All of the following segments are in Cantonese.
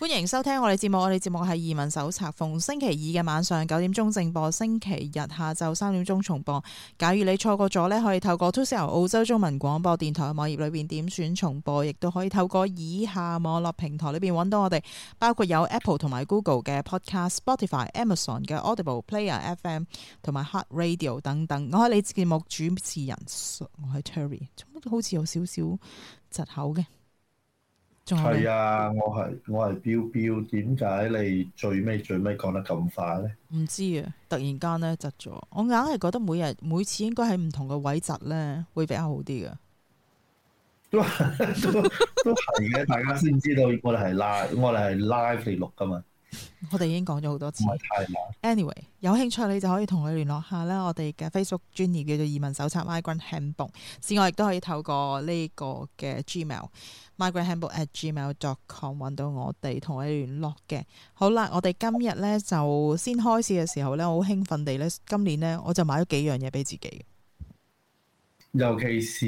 歡迎收聽我哋節目，我哋節目係移民手冊，逢星期二嘅晚上9點鐘正播，星期日下晝3點鐘重播。假如你錯過咗呢，可以透過 2CR 澳洲中文廣播電台嘅網頁裏邊點選重播，亦都可以透過以下網絡平台裏邊揾到我哋，包括有 Apple 同埋 Google 嘅 Podcast、Spotify、Amazon 嘅 Audible、Player FM 同埋 Heart Radio 等等。我係你節目主持人，我係 Terry， 好似有少少窒口嘅。 係啊，我係標標，點解你最尾講得咁快咧？ 唔知啊，突然間咧窒咗，我硬係覺得每次應該喺唔同嘅位窒咧，會比較好啲嘅。 都係嘅，大家先知道我哋係 live 嚟錄噶嘛。 我哋已經講咗好多次。 唔係太難。 Anyway， 有興趣你就可以同佢聯絡下啦。我哋嘅 Facebook 專頁叫做移民手冊 Migrant Handbook， 此外亦都可以透過呢個嘅 Gmail migranthandbook@gmail.com 揾到我哋，同我哋聯絡嘅。好啦，我哋今日咧就先開始嘅時候咧，我好興奮地咧，今年咧我就買咗幾樣嘢俾自己。 尤其是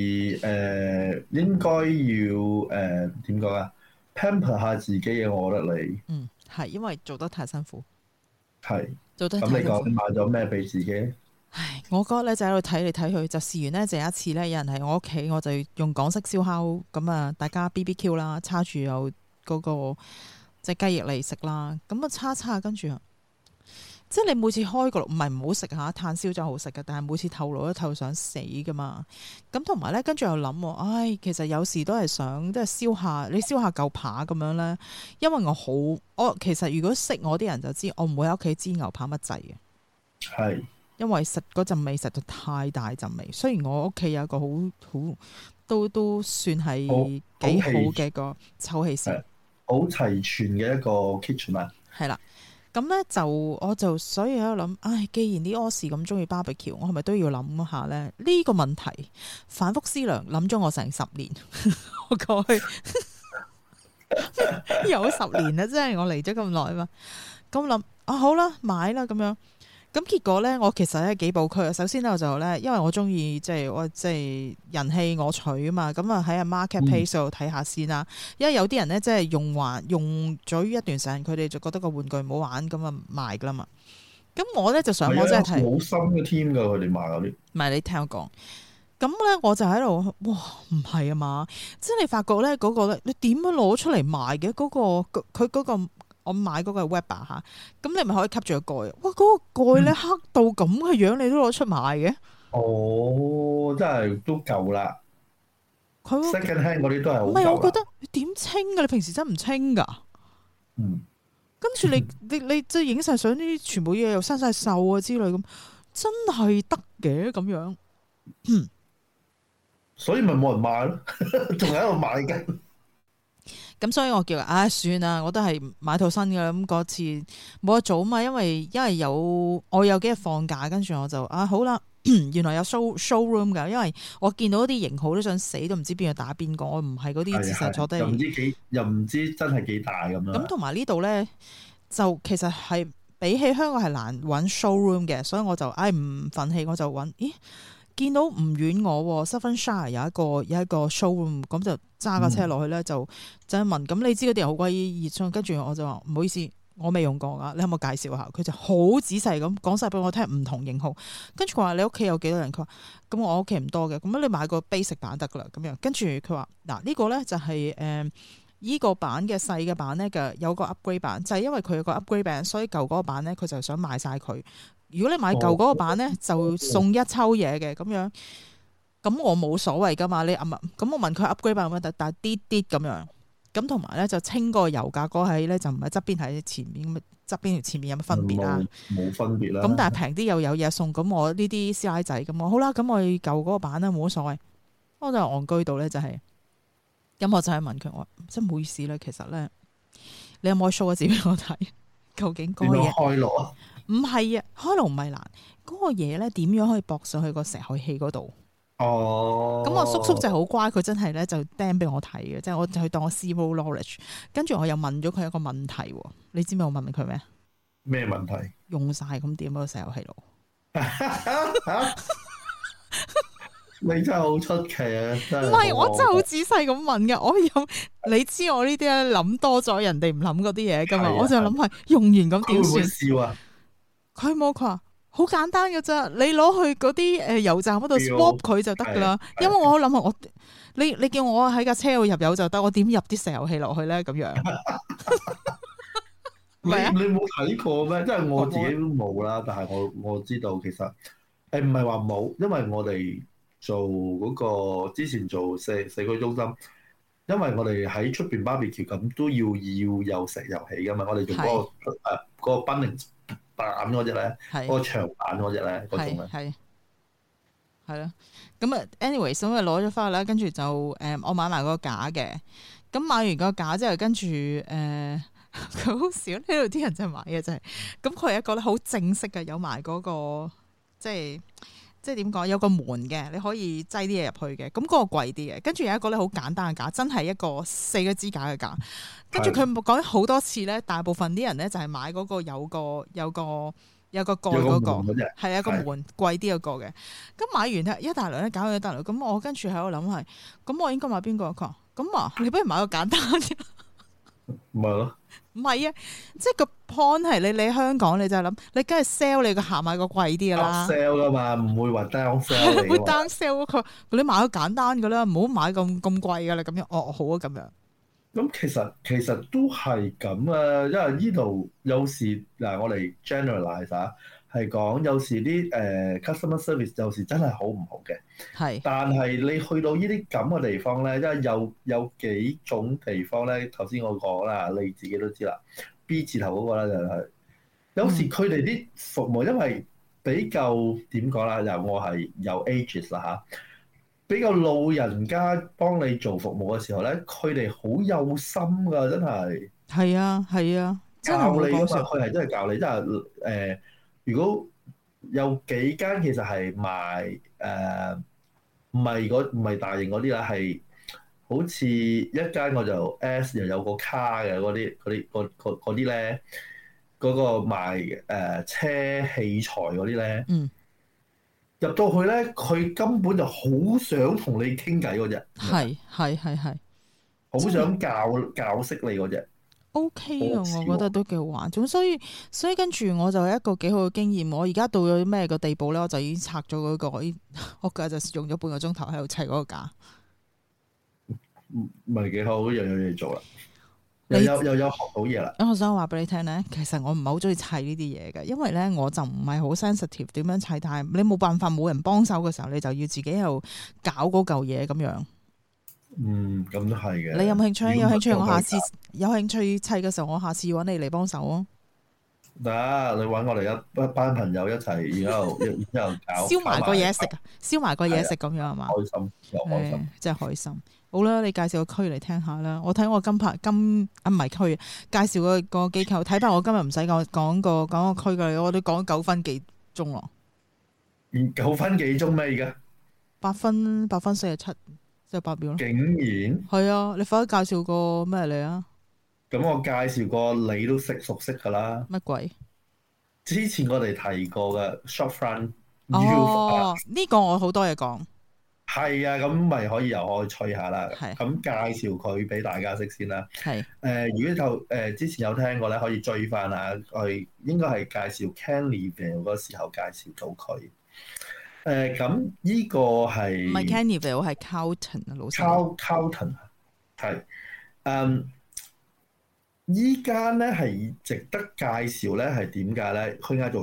應該要點講啊 pamper 下自己嘅，我覺得你係因為做得太辛苦， 係做得太辛苦。 咁你講買咗咩俾自己？ 唉，我嗰日咧就喺度睇嚟睇去，就試完呢，就有一次咧，有人喺我屋企，我就用港式燒烤咁啊，大家 BBQ 啦，叉住有嗰個即係雞翼嚟食啦，咁啊叉跟住即係你每次開個爐唔係唔好食嚇，炭燒就好食嘅，但係每次透爐都透想死噶嘛。咁同埋咧，跟住又諗，唉，其實有時都係想即係燒下嚿扒咁樣咧，因為我其實如果識我啲人就知，我唔會喺屋企煎牛扒乜滯嘅。 係。 因為實嗰陣味實在太大陣味，雖然我屋企有一個好都算係幾好嘅個抽氣扇， 好齊全嘅一個 kitchen 啊。 係啦，咁咧我就所以喺度諗，唉，既然啲柯士咁中意 barbecue， 我係咪都要諗下咧？呢個問題反覆思量，諗咗我成10年，我過去有10年啦，即係我嚟咗咁耐嘛。咁諗好啦，買啦咁樣。咁結果咧，我其實咧幾部區啊。首先咧，我就咧，因為我中意即係人氣我取啊嘛。咁啊喺阿 Marketplace 度睇下先啦。因為有啲人咧，即係用咗一段時間，佢哋就覺得個玩具唔好玩，咁啊賣噶啦嘛。咁我咧就上網真係睇好深嘅添㗎，佢哋賣嗰啲。唔係， 你聽我講。咁咧我就喺度，哇，唔係啊嘛！即係你發覺咧嗰個咧，你點樣攞出嚟賣嘅？嗰個佢嗰個。我買嗰個係 Weber 嚇，咁你咪可以吸住個蓋。哇！嗰個蓋咧黑到咁嘅樣，你都攞出賣嘅？ 哦，真係都夠啦。佢 second hand 嗰啲都係好夠啦。唔係， 我覺得你點清㗎？你平時真唔清㗎？跟住你即係影晒相，呢啲全部嘢又生晒鏽啊之類咁，真係得嘅咁樣。所以咪冇人買咯，仲喺度買緊。咁所以我叫算啦，我都係買套新嘅。咁嗰次冇得做啊嘛，因為我有幾日放假，跟住我就好啦。原來有 showroom 㗎，因為我見到啲型號都想死，都唔知邊個打邊個。我唔係嗰啲自實坐低，又唔知真係幾大咁樣。咁同埋呢度咧，就其實係比起香港係難揾 showroom 嘅，所以我就唔憤氣，我就揾見到唔遠我 Southernshire 有一個 showroom， 咁就揸架車落去咧，就問，咁你知嗰啲人好鬼熱衷，跟住我就話唔好意思，我未用過噶，你可唔可以介紹下？佢就好仔細咁講晒俾我聽唔同型號，跟住佢話你屋企有幾多人？佢話咁我屋企唔多嘅，咁你買個 basic 版得噶啦，咁樣跟住佢話嗱呢個咧就係依個版嘅細嘅版咧嘅有個 upgrade 版，就係因為佢有個 upgrade 版，所以舊嗰個版咧佢就想賣晒佢。如果你買舊嗰個版咧，就送一抽嘢嘅咁樣。咁我冇所謂噶嘛，你咁我問佢 upgrade 版乜，但係啲咁樣。咁同埋咧就清個油價嗰係咧就唔係側邊喺前面咁，側邊同前面有乜分別啊？冇分別啦。咁但係平啲又有嘢送，咁我呢啲師奶仔咁我好啦，咁我舊嗰個版咧冇乜所謂。我就戇居到咧就係，咁我就係問佢我真係唔好意思咧，其實咧你有冇 show 個字俾我睇？究竟嗰個嘢開爐啊？唔係啊，開爐唔係難，嗰個嘢咧點樣可以駁上去個石海氣嗰度？哦，咁我叔叔就好乖，佢真係咧就釘俾我睇嘅，即係我就去當我 zero knowledge。跟住我又問咗佢一個問題，你知唔知我問佢咩？咩問題？用晒咁點嗰個石油氣爐？ 你真係好出奇啊！ 唔係，我真係好仔細咁問嘅。我有你知我呢啲咧諗多咗，人哋唔諗嗰啲嘢噶嘛。我就諗係用完咁點算？ 佢會唔會笑啊？ 佢冇，佢話好簡單嘅啫，你攞去嗰啲油站嗰度 swap 佢就得噶啦。因為我諗下你叫我喺架車度入油就得，我點入啲石油氣落去咧？咁樣你冇睇過咩？即係我自己都冇啦，但係我知道其實唔係話冇，因為我哋做嗰個之前做社區中心，因為我哋喺出邊 barbecue 咁都要有石油氣噶嘛，我哋做嗰個 burning 板嗰隻咧，嗰個長板嗰隻咧，嗰種咧。 係咯，咁啊，anyways，咁啊攞咗翻去啦，跟住就我買埋個架嘅，咁買完個架之後，跟住佢好少呢度啲人就買嘅就係，咁佢係一個咧好正式嘅，有埋嗰個即係點講，有個門嘅，你可以擠啲嘢入去嘅，咁嗰個貴啲嘅，跟住有一個咧好簡單嘅架，真係一個4個支架嘅架，跟住佢講咗好多次咧，大部分啲人咧就係買嗰個有個蓋嗰個，係一個門貴啲嗰個嘅。咁買完咧一大輪咧搞咗一大輪，咁我跟住喺度諗係，咁我應該買邊個？佢話咁啊，你不如買個簡單嘅。 唔係咯？ 唔係啊，即係個 point 係你香港你就諗，你梗係 sell 你個客買個貴啲噶啦。 sell 噶嘛，唔會話 down sell 嚟。 會 down sell 佢，你買個簡單噶啦，唔好買咁貴噶啦。咁樣哦，好啊，咁樣。 咁其實都係咁啊，因為呢度有時嗱，我哋 generalize 下，係講有時啲customer service 有時真係好唔好嘅。係。但係你去到呢啲咁嘅地方咧，因為有幾種地方咧，頭先我講啦，你自己都知啦。B 字頭嗰個咧就係，有時佢哋啲服務因為比較點講啦，又我係有 ages 啦嚇。比較老人家幫你做服務嘅時候咧，佢哋好有心㗎，真係。係啊，係啊，教你㗎嘛，佢係真係教你，真係如果有幾間其實係賣唔係大型嗰啲啦，係好似一間我就 S 又有個卡嘅嗰啲咧，嗰個賣車器材嗰啲咧。入到去咧，佢根本就好想同你傾偈嗰隻，係，好想教識你嗰隻。OK 啊，我覺得都幾好玩。咁所以跟住我就係一個幾好嘅經驗。我而家到咗咩個地步咧，我就已經拆咗嗰個，我今日就用咗半個鐘頭喺度砌嗰個架。唔係幾好，又有嘢做啦。又有學到嘢啦！我想話俾你聽咧，其實我唔係好中意砌呢啲嘢嘅，因為咧我就唔係好 sensitive 點樣砌，但係你冇辦法冇人幫手嘅時候，你就要自己喺度搞嗰嚿嘢咁樣。咁都係嘅。你有冇興趣？有興趣我下次有興趣砌嘅時候，我下次揾你嚟幫手啊！得，你揾我哋一班朋友一齊，然後搞燒埋個嘢食，燒埋個嘢食咁樣係嘛？開心又開心，真係開心。好啦，你介紹個區嚟聽下啦。我睇我唔係區，介紹個機構。睇怕我今日唔使講個區嘅，我都講9分幾鐘咯。9分幾鐘咩？而家8分47，即係8秒咯。竟然係啊！你快啲介紹個咩嚟啊？咁我介紹個你都熟悉㗎啦。乜鬼？之前我哋提過嘅 Shopfront。哦，呢個我好多嘢講。係啊，咁咪可以又可以吹下啦。咁介紹佢俾大家識先啦。如果之前有聽過咧，可以追翻啊。我應該係介紹 Canleyville 嗰時候介紹到佢。咁呢個係唔係 Canleyville 係 Carlton 啊？老實 Carlton 係依間咧係值得介紹咧，係點解咧？佢嗌做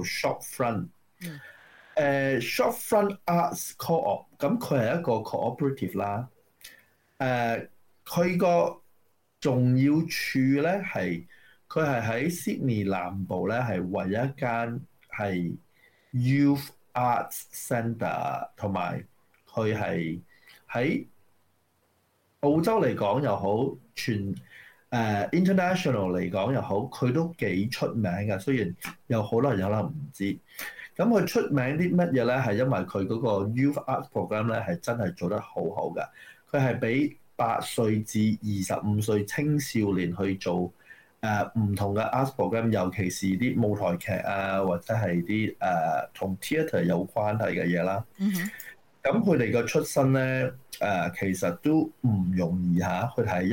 Shopfront。Shopfront Arts Co-op， 咁佢係一個 cooperative 啦。佢個重要處咧係佢係喺 Sydney 南部咧係唯一一間係 Youth Arts Centre， 同埋佢係喺澳洲嚟講又好，全international 嚟講又好，佢都幾出名嘅。雖然有好多人有可能唔知。咁佢出名啲乜嘢咧？係因為佢嗰個 Youth Arts Program 咧係真係做得好好嘅。佢係俾8歲至25歲青少年去做唔同嘅 Arts Program， 尤其是啲舞台劇啊，或者係啲同 theatre 有關係嘅嘢啦。 咁佢哋嘅出身咧，其實都唔容易嚇。佢係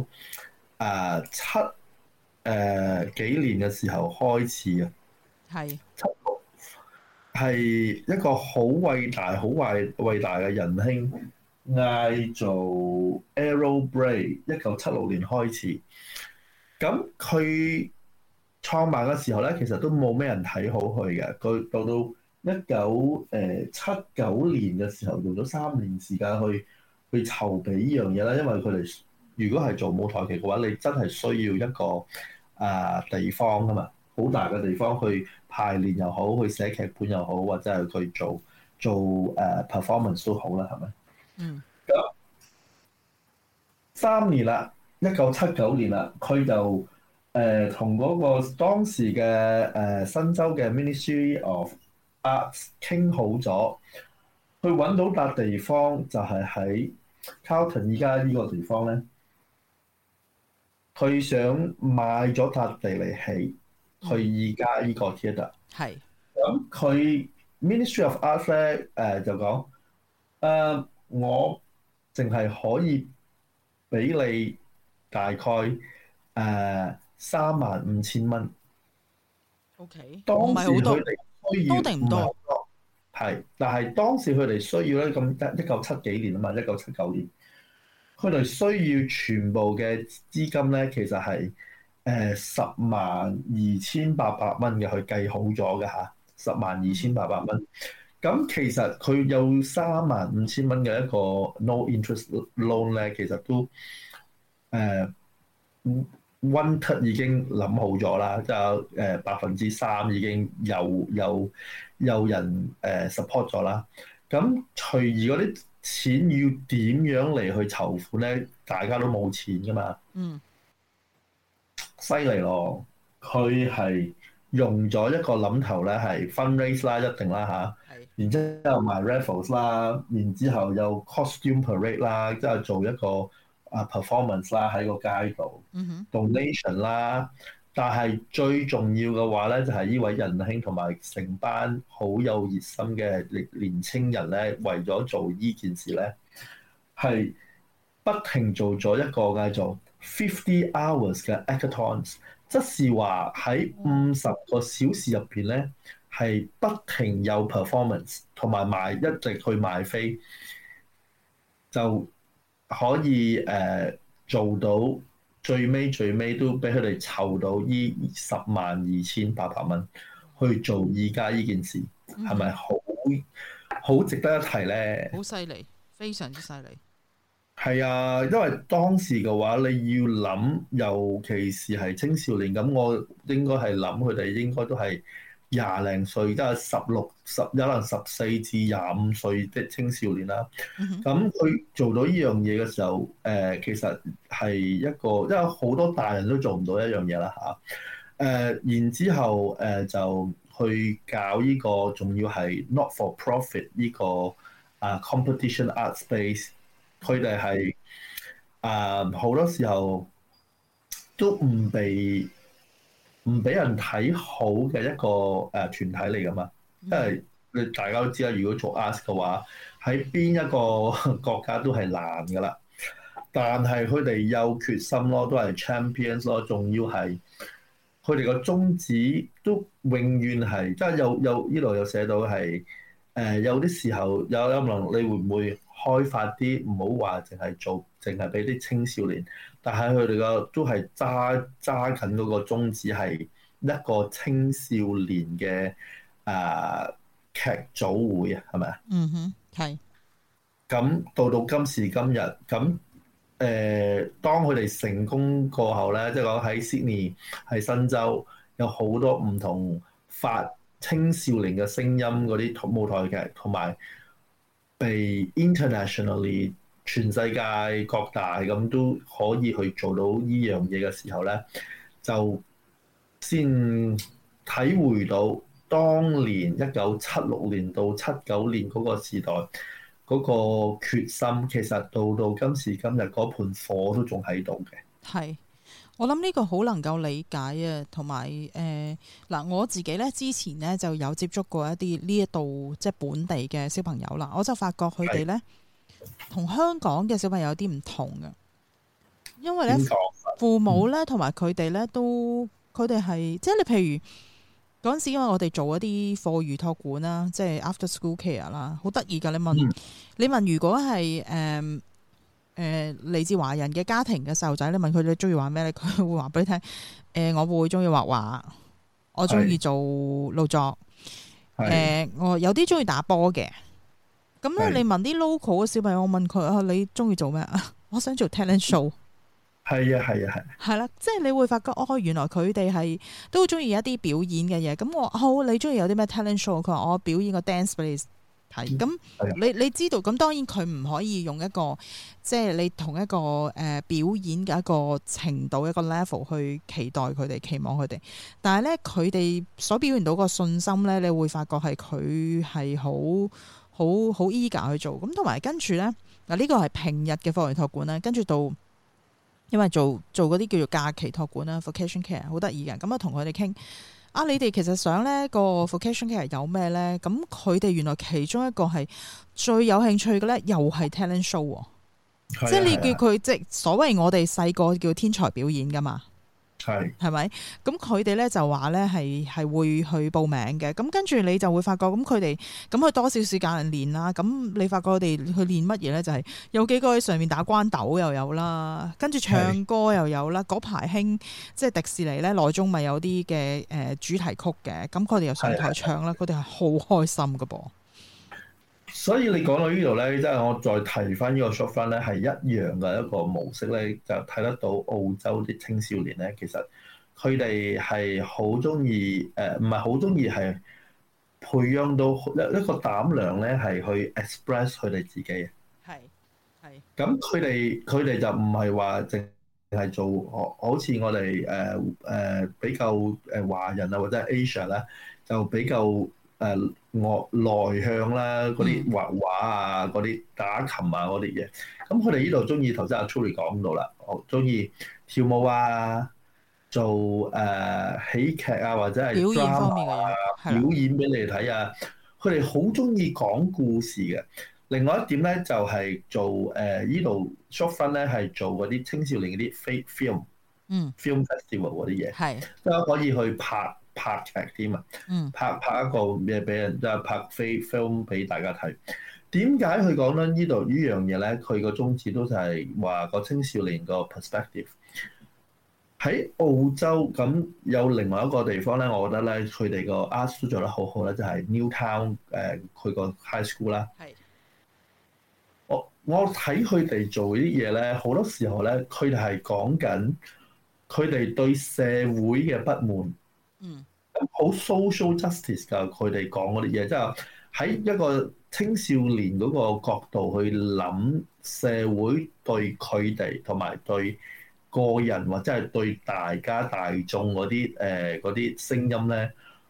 1970幾年嘅時候開始啊， 係係一個好偉大、好偉大嘅仁兄，嗌做 Arrow Bray。1976年開始，咁佢創辦嘅時候咧，其實都冇咩人睇好佢嘅。佢到1979年嘅時候，用咗3年時間去籌備呢樣嘢啦。因為佢哋如果係做舞台劇嘅話，你真係需要一個地方㗎嘛，好大嘅地方去排練又好，去寫劇本又好，或者係去做performance 都好啦，係咪？ 嗯。 咁3年啦，1979年啦，佢就同嗰個當時嘅新州嘅 Ministry of Arts 傾好咗，去揾到笪地方，就係喺 Carlton 依家呢個地方咧。佢想買咗笪地嚟起，去依家呢個 theatre。 係。 咁佢 Ministry of Arts 咧就講我淨係可以俾你大概35,000蚊。 OK。 當時佢哋需要多定唔多？ 係，但係當時佢哋需要咧，咁1970幾年啊嘛，1979年，佢哋需要全部嘅資金咧，其實係10,200,800蚊嘅，佢計好咗嘅嚇，10,200,800蚊。咁其實佢有35,000蚊嘅一個 no interest loan 咧，其實都1/3已經諗好咗啦，就3%已經有人support 咗啦。咁隨而嗰啲錢要點樣嚟去籌款咧？大家都冇錢噶嘛。 嗯。 犀利咯！佢係用咗一個諗頭咧，係 fundraise 啦，一定啦嚇。然之後賣 raffles 啦，然之後有 costume parade 啦，即係做一個performance 啦喺個街度。donation 啦，但係最重要嘅話咧，就係呢位仁兄同埋成班好有熱心嘅年青人咧，為咗做呢件事咧，係不停做咗一個叫做50 hours 嘅 hackathons，即是話喺50個小時入邊咧，係不停有 performance 同埋一直去賣飛，就可以做到最尾都俾佢哋籌到呢10,200,800蚊去做而家呢件事，係咪好值得一提咧？ 好犀利，非常之犀利。 係啊，因為當時嘅話，你要諗，尤其是係青少年，咁我應該係諗佢哋應該都係20零歲，即係16、可能14至25歲的青少年啦。咁佢做到呢樣嘢嘅時候，其實係一個，因為好多大人都做唔到一樣嘢啦嚇。然之後就去搞呢個，仲要係 not for profit 呢個competition art space。佢哋係好多時候都唔俾人睇好嘅一個團體嚟㗎嘛，因為你大家都知啦，如果做 art 嘅話，喺邊一個國家都係難㗎啦。但係佢哋有決心咯，都係 champions 咯，仲要係佢哋個宗旨都永遠係，即係有呢度有寫到係有啲時候有可能你會唔會開發啲，唔好話淨係俾啲青少年，但係佢哋個都係揸緊嗰個宗旨係一個青少年嘅劇組會啊，係咪啊？ 嗯哼，係。 咁到今時今日，咁當佢哋成功過後咧，即係講喺 Sydney 喺新州有好多唔同發青少年嘅聲音嗰啲舞台劇，同埋被 internationally 全世界各大咁都可以去做到呢樣嘢嘅時候咧，就先體會到當年1976年到79年嗰個時代嗰個決心，其實到今時今日嗰盤火都仲喺度嘅。 係。 我諗呢個好能夠理解啊，同埋嗱，我自己咧之前咧就有接觸過一啲呢一度即係本地嘅小朋友啦，我就發覺佢哋咧同香港嘅小朋友有啲唔同嘅，因為咧父母咧同埋佢哋咧都佢哋係即係你譬如嗰陣時，因為我哋做一啲課餘託管啦，即係 after school care 啦，好得意㗎。你問如果係嚟自華人嘅家庭嘅細路仔，你問佢哋中意玩咩咧？佢會話俾你聽。我會中意畫畫，我中意做勞作。我有啲中意打波嘅。咁咧，你問啲 local 嘅小朋友，我問佢啊，你中意做咩啊？我想做 talent show。係啦，即係你會發覺哦，原來佢哋係都中意一啲表演嘅嘢。咁我好，你中意有啲咩 talent show？佢話我表演個 dance 俾你。係咁，你知道咁，當然佢唔可以用一個即係你同一個表演嘅一個程度一個 level 去期待佢哋，期望佢哋。但係咧，佢哋所表現到個信心咧，你會發覺係佢係好 eager 去做。咁同埋跟住咧嗱，呢個係平日嘅課餘託管啦，跟住到因為做嗰啲叫做假期託管啦 ，vacation care 好得意嘅。咁啊，同佢哋傾。你哋其實想呢個 vocation care 有咩咧？咁佢哋原來其中一個係最有興趣嘅咧，又係 talent show 喎。即係你叫佢即係所謂我哋細個叫天才表演噶嘛。係咪？咁佢哋咧就話咧係會去報名嘅。咁跟住你就會發覺，咁佢哋咁去多少時間練啦。咁你發覺佢哋去練乜嘢咧？就係有幾個喺上面打關斗又有啦，跟住唱歌又有啦。嗰排興即係迪士尼咧內中咪有啲嘅主題曲嘅，咁佢哋又上台唱啦，佢哋係好開心噶噃。 所以你講到呢度咧，即係我再提翻呢個 short fund 咧，係一樣嘅一個模式咧，就睇得到澳洲啲青少年咧，其實佢哋係好中意唔係好中意係培養到一個膽量咧，係去 express 佢哋自己嘅。係。咁佢哋就唔係話淨係做好似我哋比較華人啊或者係 Asia 啦，就比較內向啦，嗰啲畫畫啊，嗰啲打琴啊，嗰啲嘢。咁佢哋呢度中意，頭先阿 Tury 講到啦，我中意跳舞啊，做喜劇啊，或者係 drama 啊，表演俾你哋睇啊。佢哋好中意講故事嘅。另外一點咧，就係做呢度 short fund 咧，係做嗰啲青少年嗰啲 film festival 嗰啲嘢，即係可以去拍劇添啊！拍一個嘢俾人，即係拍 film 俾大家睇。點解佢講咧呢度呢樣嘢咧？佢個宗旨都係話個青少年個 perspective 喺澳洲。咁有另外一個地方咧，我覺得咧佢哋個 arts 都做得好好咧，就係 Newtown 佢個 high school 啦。我睇佢哋做啲嘢咧，好多時候咧，佢哋係講緊佢哋對社會嘅不滿。好 social justice 㗎，佢哋講嗰啲嘢，即係喺一個青少年嗰個角度去諗社會對佢哋同埋對個人或者係對大家大眾嗰啲聲音咧，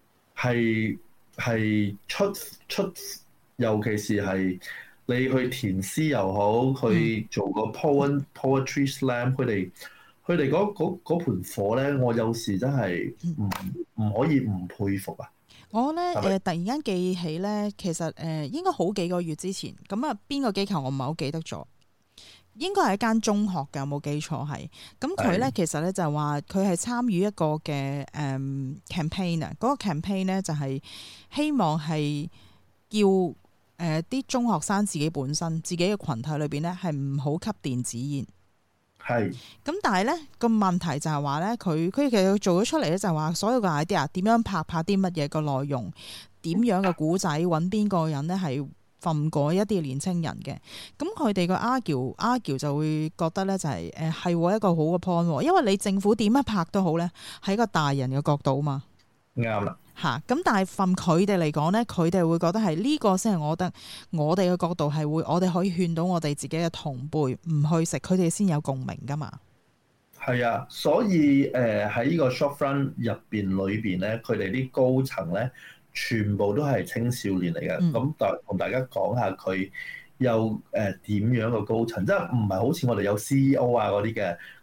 係出，尤其是係你去填詩又好，去做個 poetry slam，佢哋嗰盤火咧，我有時真係唔可以唔佩服啊！ 我咧突然間記起咧，其實應該好幾個月之前，咁啊邊個機構我唔係好記得咗，應該係一間中學嘅，有冇記錯係？咁佢咧其實咧就話佢係參與一個嘅campaign 啊，嗰個 campaign 咧就係希望係叫啲中學生自己本身自己嘅群體裏邊咧係唔好吸電子煙。咁但係咧個問題就係話咧，佢其實做咗出嚟咧就係話所有嘅 idea 點樣拍啲乜嘢個內容，點樣嘅古仔，揾邊個人咧係訓過一啲年青人嘅。咁佢哋個 argue 就會覺得咧就係係一個好嘅 point，因為你政府點樣拍都好咧，係一個大人嘅角度嘛。 啱啦。 咁但係from佢哋嚟講咧，佢哋會覺得係呢個先係我覺得我哋嘅角度係會，我哋可以勸到我哋自己嘅同輩唔去食，佢哋先有共鳴噶嘛。 係啊，所以喺呢個 short fund 入邊咧，佢哋啲高層咧，全部都係青少年嚟嘅。咁同大家講下佢有點樣嘅高層，即係唔係好似我哋有 CEO 啊嗰啲嘅，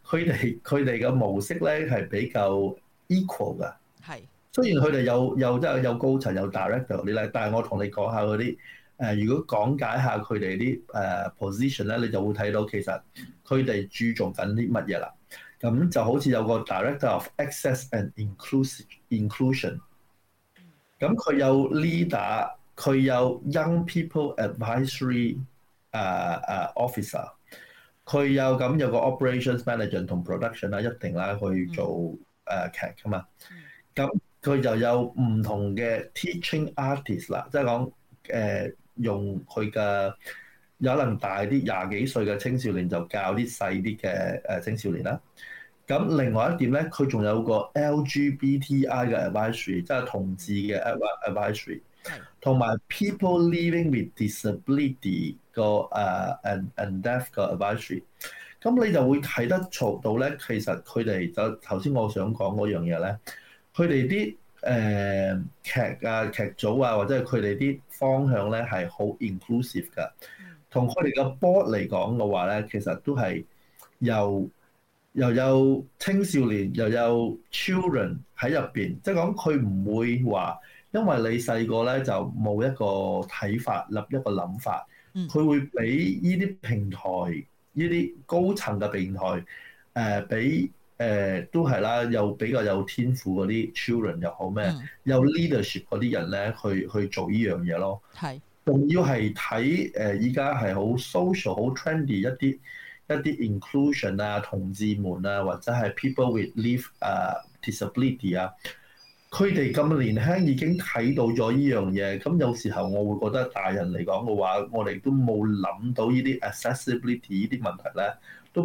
佢哋嘅模式咧係比較 equal 㗎。 係。 雖然佢哋有高層有 director 嗰啲咧，但係我同你講下嗰啲如果講解下佢哋啲position 咧，你就會睇到其實佢哋注重緊啲乜嘢啦。咁就好似有個 director of access and inclusion，咁佢有 leader，佢有 young people advisory officer， 佢有個 operations manager 同 production 啦，一定啦去做劇㗎嘛。咁佢就有唔同嘅 teaching artist 啦，即係講用佢嘅有可能大啲廿幾歲嘅青少年就教啲細啲嘅青少年啦。咁另外一點咧，佢仲有個 LGBTI 嘅 advisory， 即係同志嘅 advisory， 同埋 people living with disability 個and deaf 嘅 advisory。咁你就會睇得到咧，其實佢哋就頭先我想講嗰樣嘢咧。佢哋啲劇組啊，或者係佢哋啲方向咧係好 inclusive 㗎。同佢哋嘅 board 嚟講嘅話咧，其實都係又有青少年又有 children 喺入邊，即係講佢唔會話因為你細個咧就冇一個睇法、立一個諗法，佢會俾呢啲平台、呢啲高層嘅平台俾。都係啦，又比較有天賦嗰啲 children 又好咩，有 leadership 嗰啲人咧去做呢樣嘢咯。係，仲要係睇依家係好 social 好 trendy 一啲 inclusion 啊，同志們啊，或者係 people with live disability 啊，佢哋咁年輕已經睇到咗呢樣嘢，咁有時候我會覺得大人嚟講嘅話，我哋都冇諗到呢啲 accessibility 呢啲問題咧，都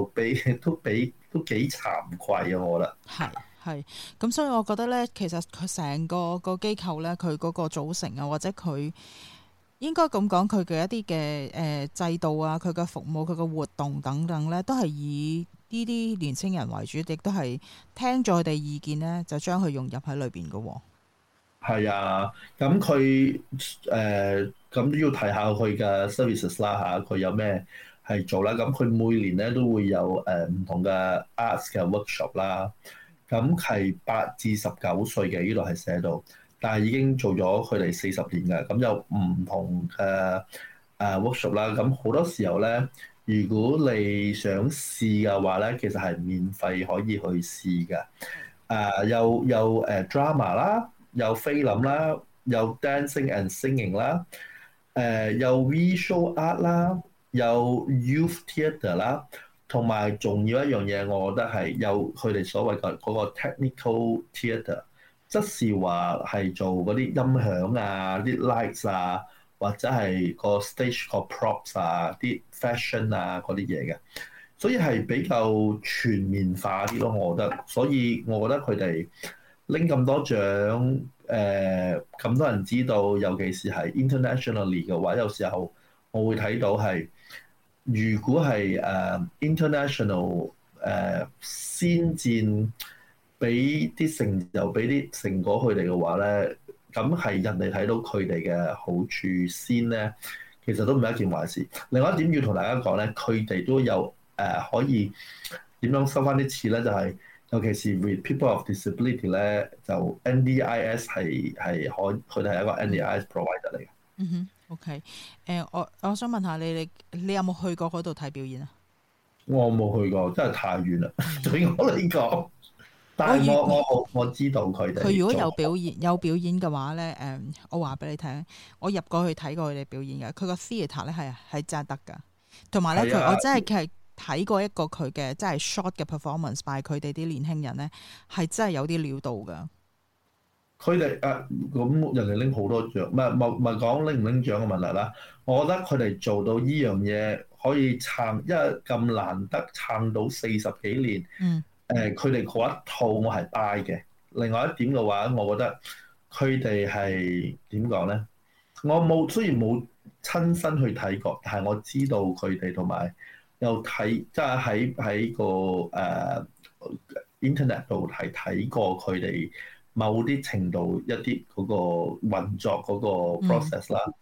幾慚愧啊！我覺得係咁，所以我覺得咧，其實佢成個機構咧，佢嗰個組成啊，或者佢應該咁講，佢嘅一啲嘅制度啊，佢嘅服務、佢嘅活動等等咧，都係以呢啲年青人為主，亦都係聽咗佢哋意見咧，就將佢融入喺裏邊嘅喎。 係啊，咁佢咁都要提下佢嘅 services 啦嚇，佢有咩？係做啦，咁佢每年咧都會有唔同嘅 arts 嘅 workshop 啦。咁係8至19歲嘅，呢度係寫到，但係已經做咗佢哋40年嘅。咁有唔同嘅workshop 啦。咁好多時候咧，如果你想試嘅話咧，其實係免費可以去試嘅。有drama 啦，有菲林啦，有 dancing and singing 啦，有 visual art 啦。有 youth theatre 啦，同埋仲要一樣嘢，我覺得係有佢哋所謂嘅嗰個 technical theatre， 即是話係做嗰啲音響啊、啲 lights 啊，或者係個 stage 個 props 啊、啲 fashion 啊嗰啲嘢嘅，所以係比較全面化啲咯，我覺得。所以我覺得佢哋拎咁多獎，咁多人知道，尤其是係 internationally 嘅話，有時候我會睇到係。如果係international 先戰，俾啲成就、俾啲成果佢哋嘅話咧，咁係人哋睇到佢哋嘅好處先咧，其實都唔係一件壞事。另外一點要同大家講咧，佢哋都有可以點樣收翻啲錢咧，就係尤其是 with people of disability 咧，就 NDIS 係佢哋係一個 NDIS provider 嚟嘅。 嗯哼。OK， 我想問下你有冇去過嗰度睇表演啊？ 我冇去過，真係太遠啦。對我嚟講，但係我知道佢哋。 佢如果有表演嘅話咧，我話俾你聽，我入過去睇過佢哋表演嘅，佢個 theatre 咧係真係得㗎。同埋咧，我真係睇過一個佢嘅真係 short 嘅 performance by 佢哋啲年輕人咧，係真係有啲料到㗎。 佢哋咁人哋拎好多獎，唔係講拎唔拎獎嘅問題啦。我覺得佢哋做到呢樣嘢可以撐，因為咁難得撐到40幾年。佢哋嗰一套我係 buy 嘅。另外一點嘅話，我覺得佢哋係點講咧？我雖然冇親身去睇過，但係我知道佢哋同埋又睇，即係喺個internet 度係睇過佢哋。某啲程度一啲嗰個運作嗰個 process 啦，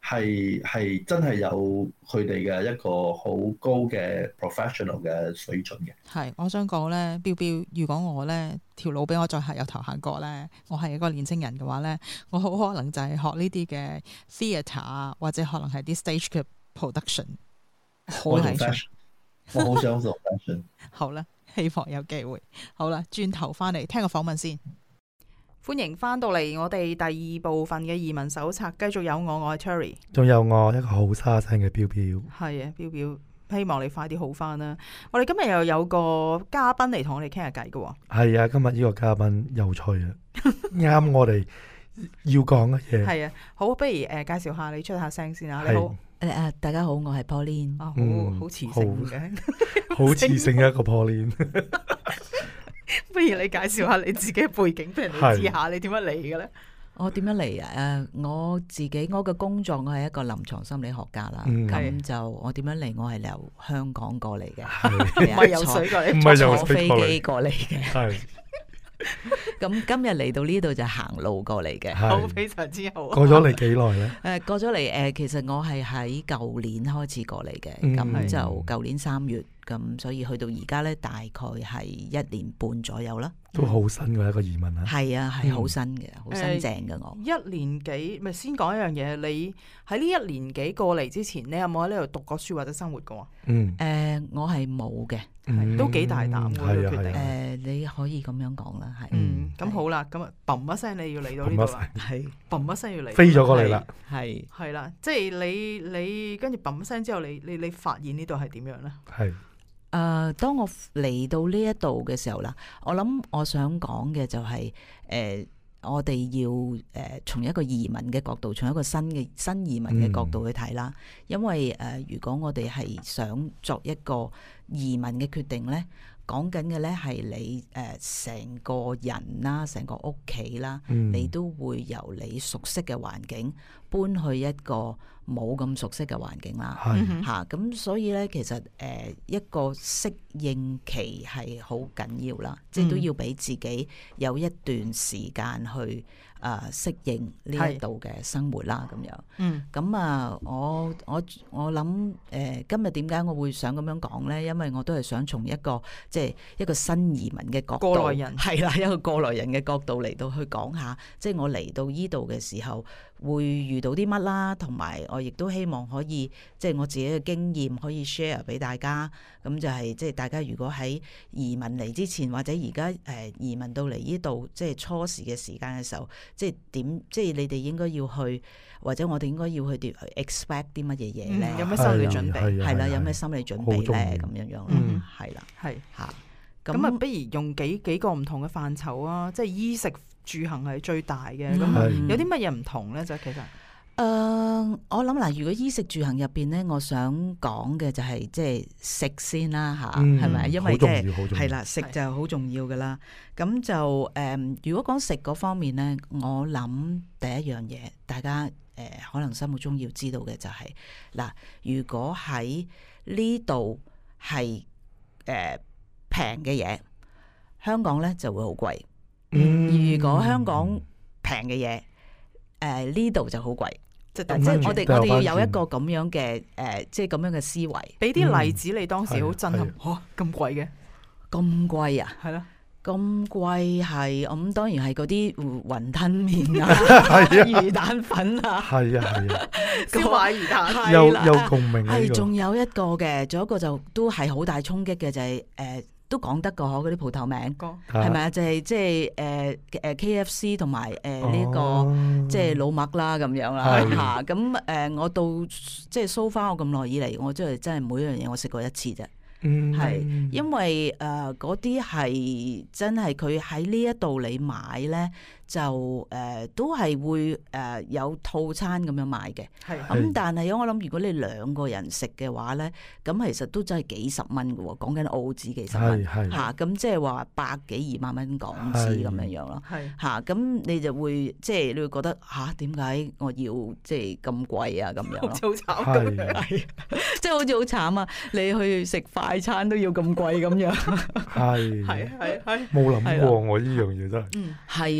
係真係有佢哋嘅一個好高嘅 professional 嘅水準嘅。 係，我想講咧，標標，如果我咧條路俾我再行有頭行過咧，我係一個年青人嘅話咧，我好可能就係學呢啲嘅 theatre 啊，或者可能係啲 stage 嘅 production。好興趣， 我好想做 fashion。 好啦，希望有機會。好啦，轉頭翻嚟聽個訪問先。歡迎翻到嚟我哋第二部分嘅移民手冊，繼續有我係 Terry， 仲有我一個好沙聲嘅標標。係啊，標標，希望你快啲好翻啦。我哋今日又有個嘉賓嚟同我哋傾下偈嘅。係啊，今日呢個嘉賓有趣啊，啱我哋要講嘅嘢。 係啊，好，不如介紹下你出下聲先啊。你好， 大家好，我係 Pauline。 好磁性嘅， 好磁性嘅一個 Pauline。 不如你介紹下你自己嘅背景俾人哋知下，你點樣嚟嘅咧？ 我點樣嚟啊？我嘅工作，我係一個臨床心理學家啦。咁就我點樣嚟？我係由香港過嚟嘅， 唔係游水過嚟， 唔係坐飛機過嚟嘅。係。咁今日嚟到呢度就行路過嚟嘅， 好，非常之好。 過咗嚟幾耐咧？ 過咗嚟其實我係喺舊年開始過嚟嘅，咁就舊年3月。咁所以去到而家咧，大概係1年半左右啦。 都好新嘅一個移民啊！ 係啊，係好新嘅，好新淨嘅我。 1年幾，咪先講一樣嘢。你喺呢1年幾過嚟之前，你有冇喺呢度讀過書或者生活過啊？ 我係冇嘅， 都幾大膽嘅決定。 你可以咁樣講啦，係。 咁好啦，咁啊，嘣一聲你要嚟到呢度啦，係嘣一聲要嚟， 飛咗過嚟啦， 係啦，即係你跟住嘣一聲之後，你發現呢度係點樣咧？係。 當我嚟到呢一度嘅時候啦，我諗我想講嘅就係我哋要從一個移民嘅角度，從一個新移民嘅角度去睇啦。因為如果我哋係想作一個移民嘅決定咧，講緊嘅咧係你成個人啦，成個屋企啦，你都會由你熟悉嘅環境搬去一個冇咁熟悉嘅環境啦，嚇咁所以咧，其實一個適應期係好緊要啦，即係都要俾自己有一段時間去適應呢一度嘅生活啦，咁樣。咁啊，我諗今日點解我會想咁樣講咧？因為我都係想從一個即係一個新移民嘅角度，過來人係啦，一個過來人嘅角度嚟到去講下，即係我嚟到依度嘅時候會遇到啲乜啦，同埋我亦都希望可以即係我自己嘅經驗可以 share 俾大家。咁就係即係大家如果喺移民嚟之前，或者而家移民到嚟依度，即係初時嘅時間嘅時候，即係點？即係你哋應該要去，或者我哋應該要去 expect 啲乜嘢嘢咧？ 有咩心理準備？ 係啦，有咩心理準備咧？咁樣樣，係啦，係嚇。 咁啊，不如用幾個唔同嘅範疇啊，即係衣食住行係最大嘅。咁有啲乜嘢唔同咧？就其實。 我諗嗱，如果衣食住行入邊咧，我想講嘅就係即係食先啦吓，係咪？因為即係係啦，食就好重要噶啦。咁就如果講食嗰方面咧，我諗第一樣嘢，大家可能心目中要知道嘅就係嗱，如果喺呢度係平嘅嘢，香港咧就會好貴。如果香港平嘅嘢，呢度就好貴。即係我哋要有一個咁樣嘅即係咁樣嘅思維。俾啲例子，你當時好震撼，嚇咁貴嘅，咁貴啊？係咯，咁貴係咁，當然係嗰啲雲吞麵啊、魚蛋粉啊， 係啊係啊， 燒賣魚蛋， 有共鳴。 係仲有一個嘅，仲有一個就都係好大衝擊嘅，就係都講得個嗰啲鋪頭名，係咪啊？就係即係KFC 同埋呢個即係老麥啦咁樣啦嚇。咁我到即係 so far 我咁耐以嚟，我真係每樣嘢我食過一次啫。係因為嗰啲係真係佢喺呢一度你買咧，就都係會有套餐咁樣買嘅。咁但係我諗如果你2個人食嘅話咧，咁其實都真係幾十蚊嘅喎，講緊澳紙幾十蚊嚇。咁即係話100幾2萬蚊港紙咁樣樣咯。嚇咁你就會即係你會覺得嚇點解我要即係咁貴啊咁樣咯？ 好慘咁， 即係好似好慘啊！你去食快餐都要咁貴咁樣， 係冇諗過我呢樣嘢真係。 係啊，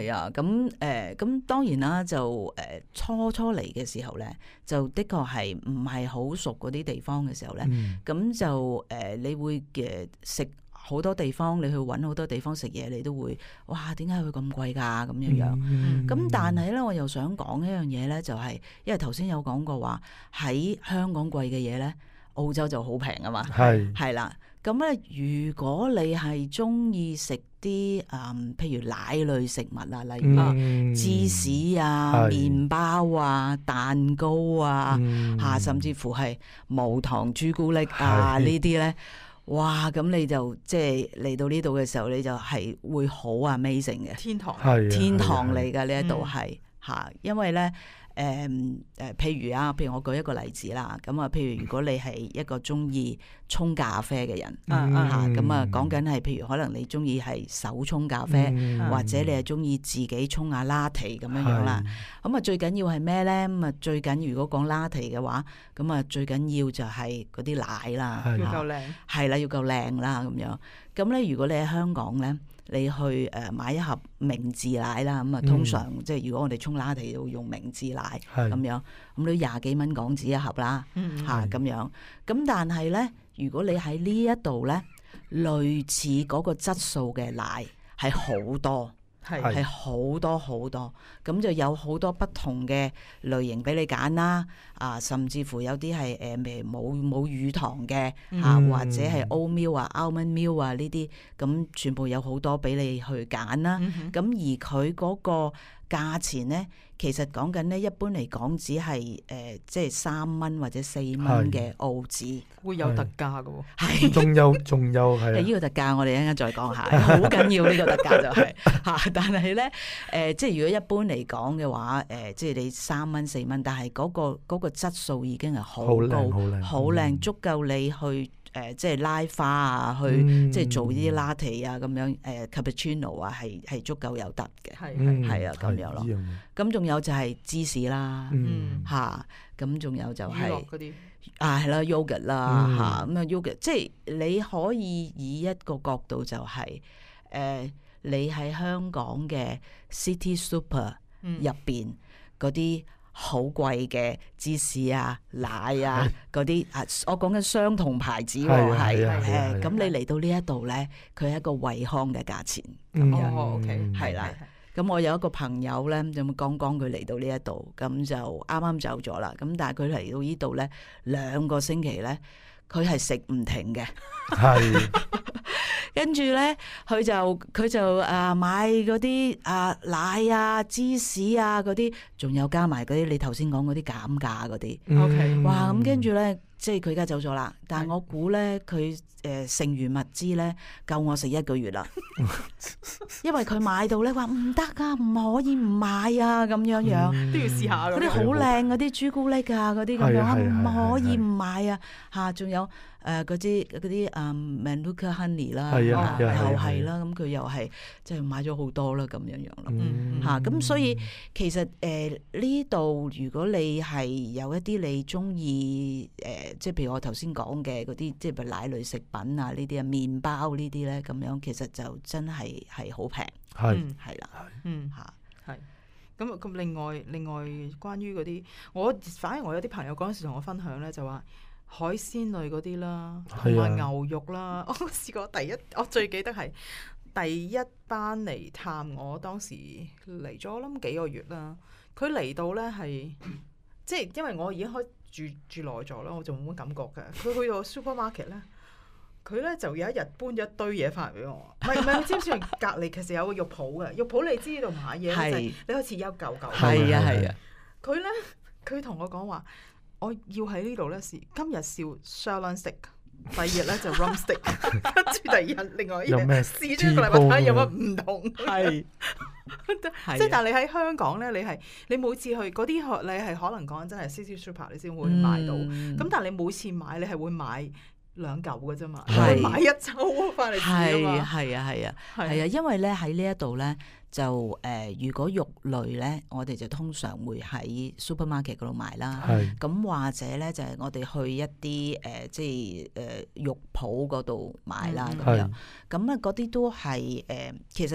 係啊，咁當然啦，就初嚟嘅時候咧，就的確係唔係好熟嗰啲地方嘅時候咧，咁就你會食好多地方，你去揾好多地方食嘢，你都會哇，點解會咁貴㗎咁樣樣？咁但係咧，我又想講一樣嘢咧，就係因為頭先有講過話喺香港貴嘅嘢咧，澳洲就好平啊嘛，係啦。咁咧，如果你係中意食啲譬如奶類食物啊，例如芝士啊、麵包啊、蛋糕啊，甚至乎係無糖朱古力啊呢啲咧，哇！咁你就即係嚟到呢度嘅時候，你就係會好 amazing 嘅天堂嚟㗎，呢一度係嚇，因為咧。譬如我舉一個例子啦，咁啊，譬如如果你係一個中意沖咖啡嘅人，咁啊講緊係譬如可能你中意係手沖咖啡，或者你係中意自己沖下 latte 咁樣樣啦。咁啊最緊要係咩咧？咁啊最緊如果講 latte 嘅話，咁啊最緊要就係嗰啲奶啦，要夠靚，係啦，要夠靚啦咁樣。咁咧如果你喺香港咧，你去買一盒明治奶啦，咁啊通常即係如果我哋沖latte要用明治奶咁樣，咁都廿幾蚊港紙一盒啦，嚇咁樣。咁但係咧，如果你喺呢一度咧，類似嗰個質素嘅奶係好多。係好多好多，咁就有好多不同嘅類型俾你揀啦。甚至乎有啲係冇乳糖嘅，或者係 oat milk 啊、almond milk 啊呢啲，咁全部有好多俾你去揀啦。咁而佢嗰個價錢咧，其實講緊咧，一般嚟講只係即係3蚊或者4蚊嘅澳紙，會有特價嘅喎。係， 仲有係呢個特價，我哋一陣間再講下，好緊要呢個特價就係嚇。但係咧即係如果一般嚟講嘅話，即係你3蚊4蚊，但係嗰個質素已經係好高、好靚，足夠你去。即係拉花啊，去即係做啲 latte 啊，咁樣cappuccino 啊，係足夠有得嘅，係啊咁樣咯。咁仲有就係芝士啦，嚇，咁仲有就係嗰啲係啦 yogurt 啦，嚇，咁啊 yogurt，即係你可以以一個角度就係你喺香港嘅 City Super 入邊嗰啲。好貴嘅芝士啊、奶啊嗰啲我講緊相同牌子喎，係咁你嚟到呢一度咧，佢係一個惠康嘅價錢咁樣，OK，係啦。咁我有一個朋友咧，咁剛剛佢嚟到呢一度，咁就啱啱走咗啦。咁但係佢嚟到呢度咧，2個星期咧，佢係食唔停嘅。係。跟住咧，佢就買嗰啲奶啊、芝士啊嗰啲，仲有加埋嗰啲你頭先講嗰啲減價嗰啲。OK，哇！咁跟住咧，即係佢而家走咗啦。但係我估咧，佢剩餘物資咧夠我食1個月啦。因為佢買到咧話唔得啊，唔可以唔買啊，咁樣樣都要試下嗰啲好靚嗰啲朱古力啊，嗰啲咁樣唔可以唔買啊嚇，仲有。嗰啲Manuka Honey 啦，又係啦，咁佢又係即係買咗好多啦，咁樣樣咯嚇。咁所以其實呢度如果你係有一啲你中意即係譬如我頭先講嘅嗰啲，即係奶類食品啊呢啲啊麵包呢啲咧，咁樣其實就真係好平，係啦， 嚇，係。咁另外關於嗰啲，反而我有啲朋友嗰陣時同我分享咧，就話。海鮮類嗰啲啦，同埋牛肉啦，我試過我最記得係第一班嚟探我，當時嚟咗我諗幾個月啦。佢嚟到咧係，即係因為我已經開住耐咗啦，我就冇乜感覺嘅。佢去到 supermarket 咧，佢咧就有一日搬咗一堆嘢翻嚟俾我。唔係，你知唔知隔離其實有個肉鋪嘅？肉鋪你知道買嘢就係你好似有嚿嚿。係啊。佢同我講話。我要喺呢度咧試，今日試 sirloin steak， 第二日咧就 rump steak， 跟住第二日另外一嘢試咗一個禮拜睇下有乜唔同。係，即係但係你喺香港咧，你每次去嗰啲你係可能講真係 City Super 你先會買到，咁但係你每次買你係會買2嚿嘅啫嘛，係買一抽翻嚟試啊嘛。係啊， 因為咧喺呢一度咧。就如果肉類咧，我哋就通常會喺 supermarket 嗰度買啦。咁或者咧，就係我哋去一啲即係肉鋪嗰度買啦。咁樣咁啊，嗰啲都係其實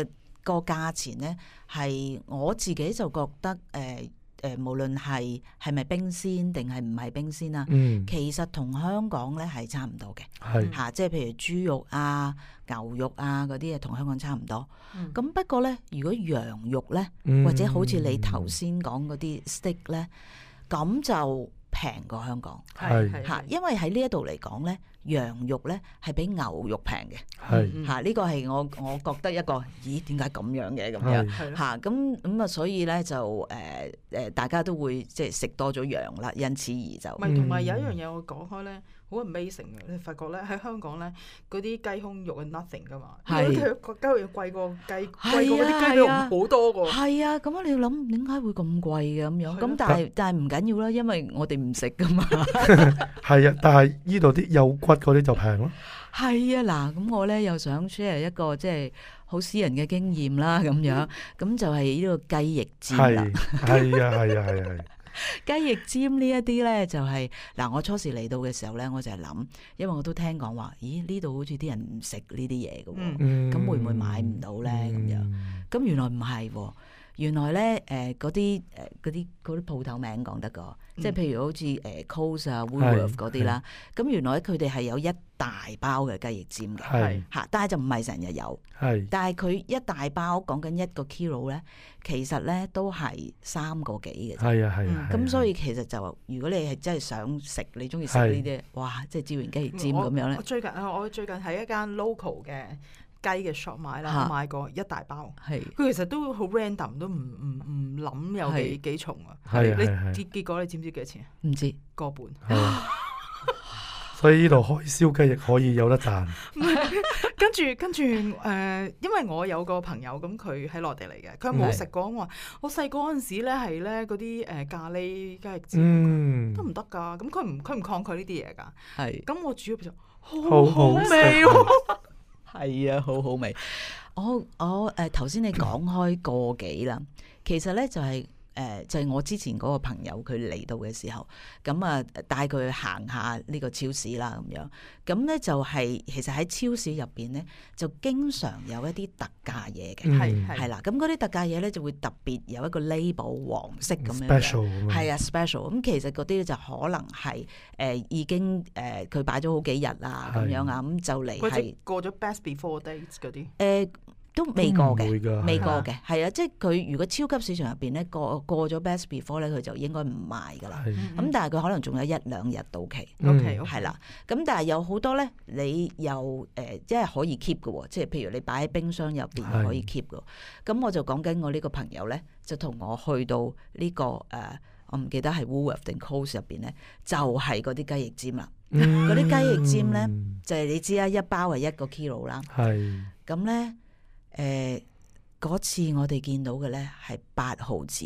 個價錢咧係我自己就覺得無論係咪冰鮮定係唔係冰鮮啊，其實同香港咧係差唔多嘅，嚇，即係譬如豬肉啊、牛肉啊嗰啲嘢同香港差唔多。咁不過咧，如果羊肉咧，或者好似你頭先講嗰啲 steak 咧，咁就平過香港，嚇，因為喺呢一度嚟講咧，羊肉咧係比牛肉平嘅，嚇，呢個係我覺得一個，咦，點解咁樣嘅咁樣嚇？咁啊，所以咧就大家都會即係食多咗羊啦，因此而就唔係，同埋有一樣嘢我講開咧，好 amazing 嘅，你發覺咧喺香港咧嗰啲雞胸肉係 nothing 噶嘛，嗰啲雞肉要貴過嗰啲雞肉好多個，係啊，咁你要諗點解會咁貴嘅咁樣？咁但係唔緊要啦，因為我哋唔食噶嘛。 係啊，但係呢度啲有骨嗰啲就平咯。 係啊，嗱，咁我咧又想 share 一個即係好私人嘅經驗啦，咁樣，咁就係呢個雞翼尖啦。係啊。雞翼尖呢一啲咧就係嗱，我初時嚟到嘅時候咧，我就係諗，因為我都聽講話，咦，呢度好似啲人唔食呢啲嘢嘅喎，咁會唔會買唔到咧？咁樣，咁原來唔係喎。原來咧，嗰啲鋪頭名講得個，即係譬如好似Coles 啊、Woolworth 嗰啲啦，咁原來佢哋係有一大包嘅雞翼尖嘅，嚇，但係就唔係成日有，但係佢一大包講緊1個 kilo 咧，其實咧都係3個幾嘅，係啊，咁所以其實就如果你係真係想食，你中意食呢啲，哇，即係椒鹽雞翼尖咁樣咧。 我最近喺一間 local 嘅雞嘅 shop 買啦，買過一大包，佢其實都好 random， 都唔諗有幾重啊。你結果你知唔知幾多錢啊？ 唔知個半。 所以呢度開燒雞翼可以有得賺。 跟住因為我有個朋友咁，佢喺內地嚟嘅，佢冇食過。我話我細個嗰陣時咧係咧嗰啲咖喱雞翼尖得唔得㗎？咁佢唔抗拒呢啲嘢㗎。咁我煮咗好好味喎。 係啊，好好味。我頭先你講開個幾啦，其實咧就係我之前嗰個朋友佢嚟到嘅時候，咁啊帶佢去行下呢個超市啦咁樣。咁咧就係其實喺超市入邊咧，就經常有一啲特價嘢嘅，係啦。咁嗰啲特價嘢咧就會特別有一個 label 黃色咁樣嘅，係啊 special。咁其實嗰啲咧就可能係已經佢擺咗好幾日啊咁樣啊，咁就嚟係過咗 best before dates 嗰啲。 都未過嘅，未過嘅，係啊，即係佢如果超級市場入邊咧過咗 best before 咧，佢就應該唔賣噶啦。咁但係佢可能仲有1-2日到期，OK，係啦。咁但係有好多咧，你又即係可以 keep 嘅喎，即係譬如你擺喺冰箱入邊可以 keep 嘅。咁我就講緊我呢個朋友咧，就同我去到呢個我唔記得係 Woolworth 定 Coles 入邊咧，就係嗰啲雞翼尖啦。嗰啲雞翼尖咧，就係你知啦，一包係1個 kilo 啦。係咁咧。嗰次我哋見到嘅咧係8毫子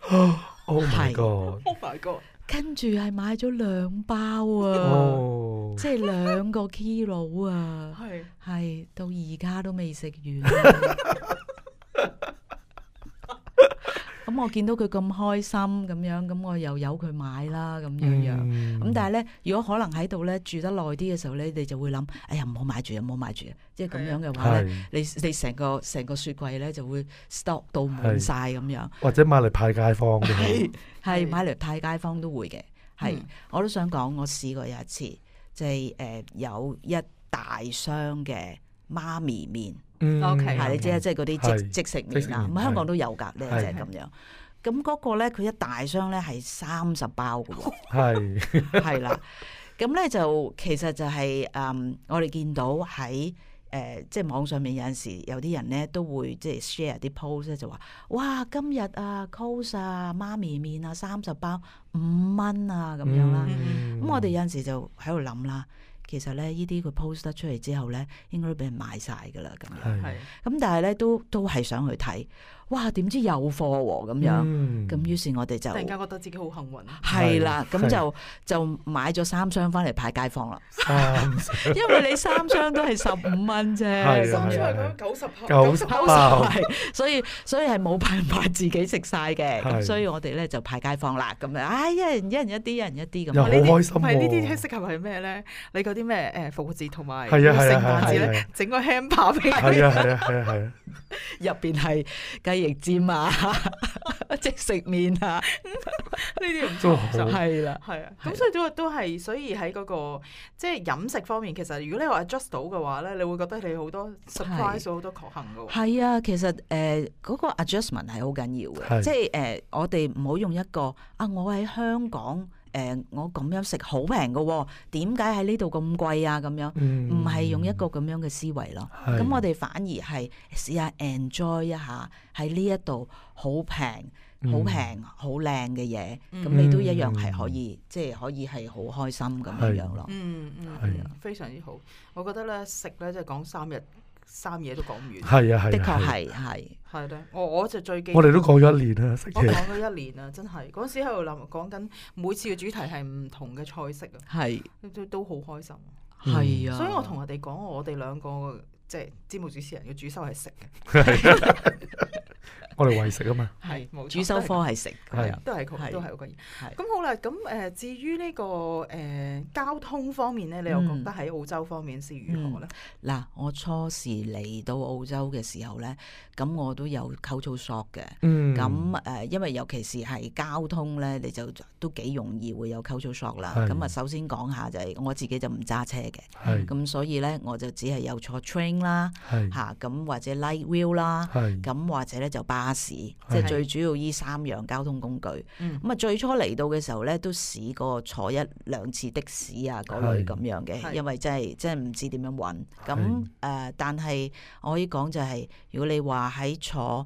，Oh my god！Oh my god！ 跟住係買咗2包啊，即係2個 kilo 啊，係到而家都未食完。咁我見到佢咁開心咁樣，咁我又由佢買啦咁樣。咁但係咧，如果可能喺度咧住得耐啲嘅時候咧，你就會諗，哎呀，唔好買住啊，唔好買住啊！即係咁樣嘅話咧，你成個雪櫃咧就會 stock 到滿晒咁樣。或者買嚟派街坊嘅， 係買嚟派街坊都會嘅。係，我都想講，我試過有一次，就係有一大箱嘅媽咪麵。 OK， 係你知啊，即係嗰啲即食麵啊，咁香港都有㗎，呢隻咁樣。咁嗰個咧，佢一大箱咧係30包㗎喎，係啦。咁咧就其實就係我哋見到喺即係網上面有陣時有啲人咧都會即係 share 啲 post 咧，就話哇今日啊 Coles 啊媽咪麵啊30包5蚊啊咁樣啦。咁我哋有陣時就喺度諗啦。其實咧，呢啲佢 post 得出嚟之後咧，應該都俾人買晒㗎啦，咁樣。咁但係咧，都係想去睇， 哇點知有貨喎咁樣，咁於是我哋就突然間覺得自己好幸運。 係啦，咁就買咗3箱翻嚟派街坊啦。因為你3箱都係15蚊啫，3 箱係90 包，所以係冇辦法自己食晒嘅，咁所以我哋咧就派街坊啦，咁啊，一人一啲，一人一啲咁。 又好開心喎！ 係呢啲適合係咩咧？你嗰啲咩復活節同埋聖誕節咧，整個 hamper 俾佢。 係啊，入邊係雞翼尖啊，即食麵啊， 呢啲唔錯， 係啦， 係啊，咁所以都係，所以喺嗰個即係飲食方面，其實如果你話 adjust 到嘅話咧，你會覺得你好多 surprise 好多確幸嘅喎。係啊，其實嗰個 adjustment 係好緊要嘅，即係我哋唔好用一個我喺香港。我咁樣食好平嘅，點解喺呢度咁貴啊？咁樣唔係用一個咁樣嘅思維咯。咁我哋反而係試下 enjoy 一下喺呢一度好平、好平、好靚嘅嘢。咁你都一樣係可以，即係可以係好開心咁樣咯。 非常之好。我覺得咧食咧即係講3嘢都講唔完。 係啊， 的確係咧，我就最記得。 我哋都講咗1年啦，食嘢。 我講咗1年啦，真係嗰陣時喺度諗，講緊每次嘅主題係唔同嘅菜式啊， 係都好開心。 係啊， 所以我同人哋講，我哋2個即係節目主持人嘅主修係食嘅。 我哋為食啊嘛， 係冇錯， 主修科係食， 都係嗰個嘢。咁好啦，咁至於呢個交通方面咧，你又覺得喺澳洲方面是如何咧？ 嗱，我初時嚟到澳洲嘅時候咧，咁我都有 culture shock 嘅。咁因為尤其是係交通咧，你就都幾容易會有 culture shock 啦。咁啊，首先講下就係我自己就唔揸車嘅，咁所以咧我就只係有坐 train 啦，嚇咁或者 light wheel 啦，咁或者咧就巴士，即係最主要依3樣交通工具。咁啊，最初嚟到嘅時候咧，都試過坐1-2次的士啊嗰類咁樣嘅，因為真係唔知點樣揾。咁但係我可以講就係，如果你話喺坐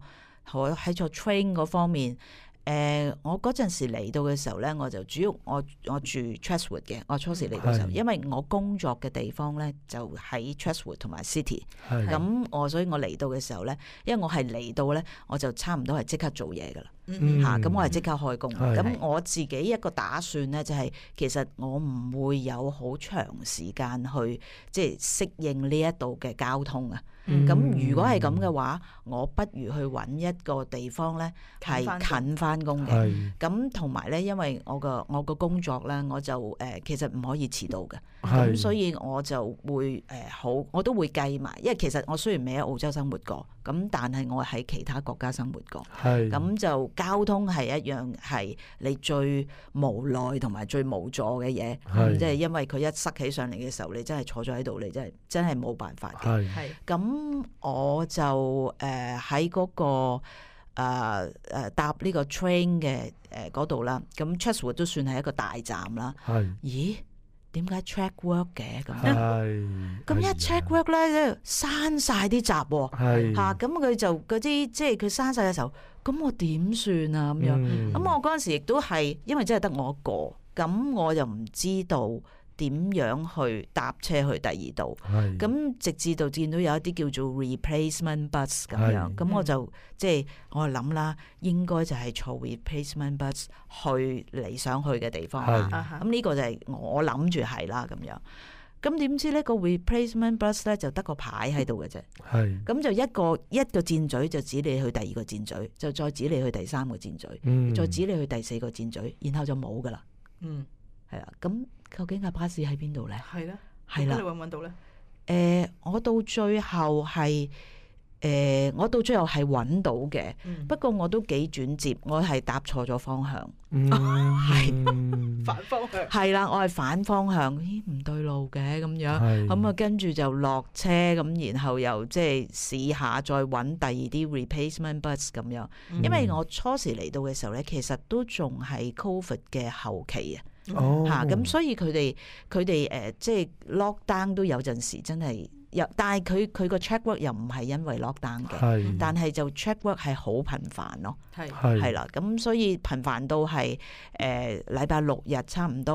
train 嗰方面。我嗰陣時嚟到嘅時候咧，我就主要我住 Chatswood 嘅。我初時嚟到嘅時候，因為我工作嘅地方咧就喺 Chatswood 同埋 City。咁所以我嚟到嘅時候咧，因為我係嚟到咧，我就差唔多係即刻做嘢噶啦。咁我係即刻開工。咁我自己一個打算咧，就係其實我唔會有好長時間去即係適應呢一度嘅交通啊。咁如果係咁嘅話，我不如去揾一個地方咧係近翻工嘅。咁同埋咧，因為我個工作咧，我就其實唔可以遲到嘅。咁所以我就會我都會計埋，因為其實我雖然未喺澳洲生活過，咁但係我喺其他國家生活過。咁就交通係一樣係你最無奈同埋最無助嘅嘢。即係因為佢一塞起上嚟嘅時候，你真係坐咗喺度，你真係冇辦法嘅。咁我就喺嗰個搭呢個 train 嘅嗰度啦。咁 Chatswood 都算係一個大站啦。咦？點解 track work 嘅咁？咁一 track work 咧，閂晒啲閘喎。咁佢就嗰啲即係佢閂晒嘅時候，咁我點算啊？咁樣咁我嗰陣時亦都係因為真係得我一個，咁我又唔知道點樣去搭車去第2度。咁直至到見到有一啲叫做 replacement bus 咁樣，咁我就即係我諗啦，應該就係坐 replacement bus 去你想去嘅地方啦。咁呢個就係我諗住係啦咁樣。咁點知呢個 replacement bus 咧就得個牌喺度嘅啫。咁就一個箭嘴就指你去第2個箭嘴，就再指你去第3個箭嘴，再指你去第4個箭嘴，然後就冇噶啦。係啦，咁究竟架巴士喺邊度咧？係啦，你揾唔揾到咧？我到最後係揾到嘅，不過我都幾轉折，我係搭錯咗方向， 反方向。 係啦，我係反方向，咦唔對路嘅咁樣，咁啊跟住就落車，咁然後又即係試下再揾第2啲 replacement bus 咁樣，因為我初時嚟到嘅時候咧，其實都仲係 COVID 嘅後期啊。咁所以佢哋即係 lockdown 都有陣時真係但係佢個 check work 又唔係因為 lockdown 嘅，但係就 check work 係好頻繁咯，係啦，咁所以頻繁到係禮拜6日差唔多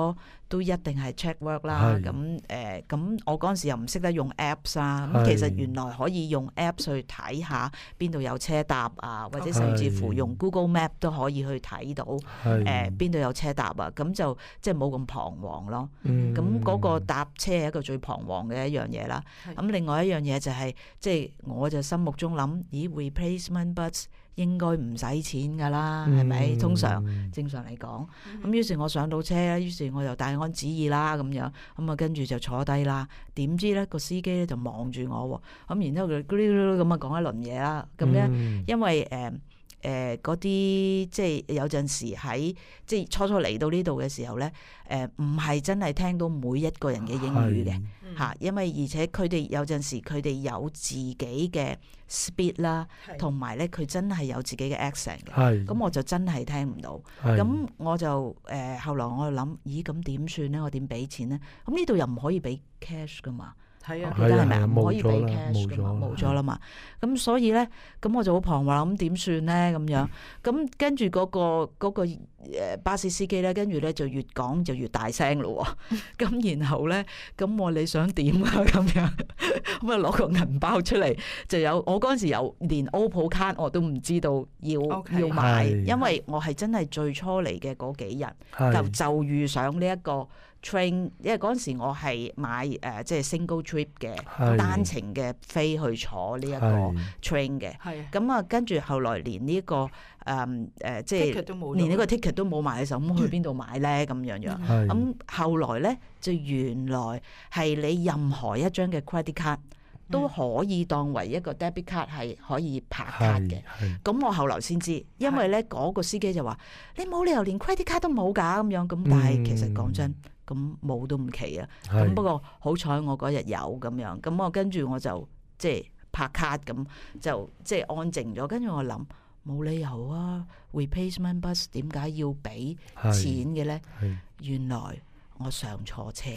都一定係 check work 啦。咁我嗰陣時又唔識得用 apps 啊。咁其實原來可以用 apps 去睇下邊度有車搭啊，或者甚至乎用 Google Map 都可以去睇到邊度有車搭啊。咁就即係冇咁彷徨咯。咁嗰個搭車係一個最彷徨嘅一樣嘢啦。咁另外一樣嘢就係即係我就心目中諗，咦 replacement bus 應該唔使錢㗎啦，係咪？正常嚟講，咁於是我上到車，於是我就大安旨意啦咁樣，咁啊跟住就坐低啦。點知咧個司機咧就望住我喎，咁然之後佢咁啊講一輪嘢啦。咁咧因為嗰啲即係有陣時喺即係初嚟到呢度嘅時候咧，唔係真係聽到每一個人嘅英語嘅嚇，因為而且佢哋有陣時佢哋有自己嘅 speed 啦，同埋咧佢真係有自己嘅 accent 嘅，咁我就真係聽唔到。咁我就後來我就諗，咦咁點算咧？我點俾錢咧？咁呢度又唔可以俾 cash 噶嘛？係啊，記得係咪啊？唔可以俾 cash 噶嘛，冇咗啦嘛。咁所以咧，咁我就好彷徨，咁點算咧？咁樣，咁跟住嗰個巴士司機咧，跟住咧就越講就越大聲咯。咁然後咧，咁我你想點啊？咁樣，咁啊攞個銀包出嚟，就有我嗰陣時有連 Opal 卡我都唔知道要買，因為我係真係最初嚟嘅嗰幾日，就遇上呢一個 train， 因為嗰陣時我係買即係 single trip 嘅單程嘅飛去坐呢一個 train 嘅，咁啊跟住後來連呢個即係連呢個 ticket 都冇買嘅時候，咁去邊度買咧？咁樣樣，咁後來咧就原來係你任何一張嘅 credit card 都可以當為一個 debit card 係可以拍卡嘅。咁我後來先知，因為咧嗰個司機就話：你冇理由連 credit card 都冇㗎咁樣。咁但係其實講真，咁冇都唔奇啊。咁不過好彩我嗰日有咁樣，咁我跟住我就即係拍卡咁，就即係安靜咗。跟住我諗冇理由啊 ，replacement bus 點解要俾錢嘅咧？原來我上錯車。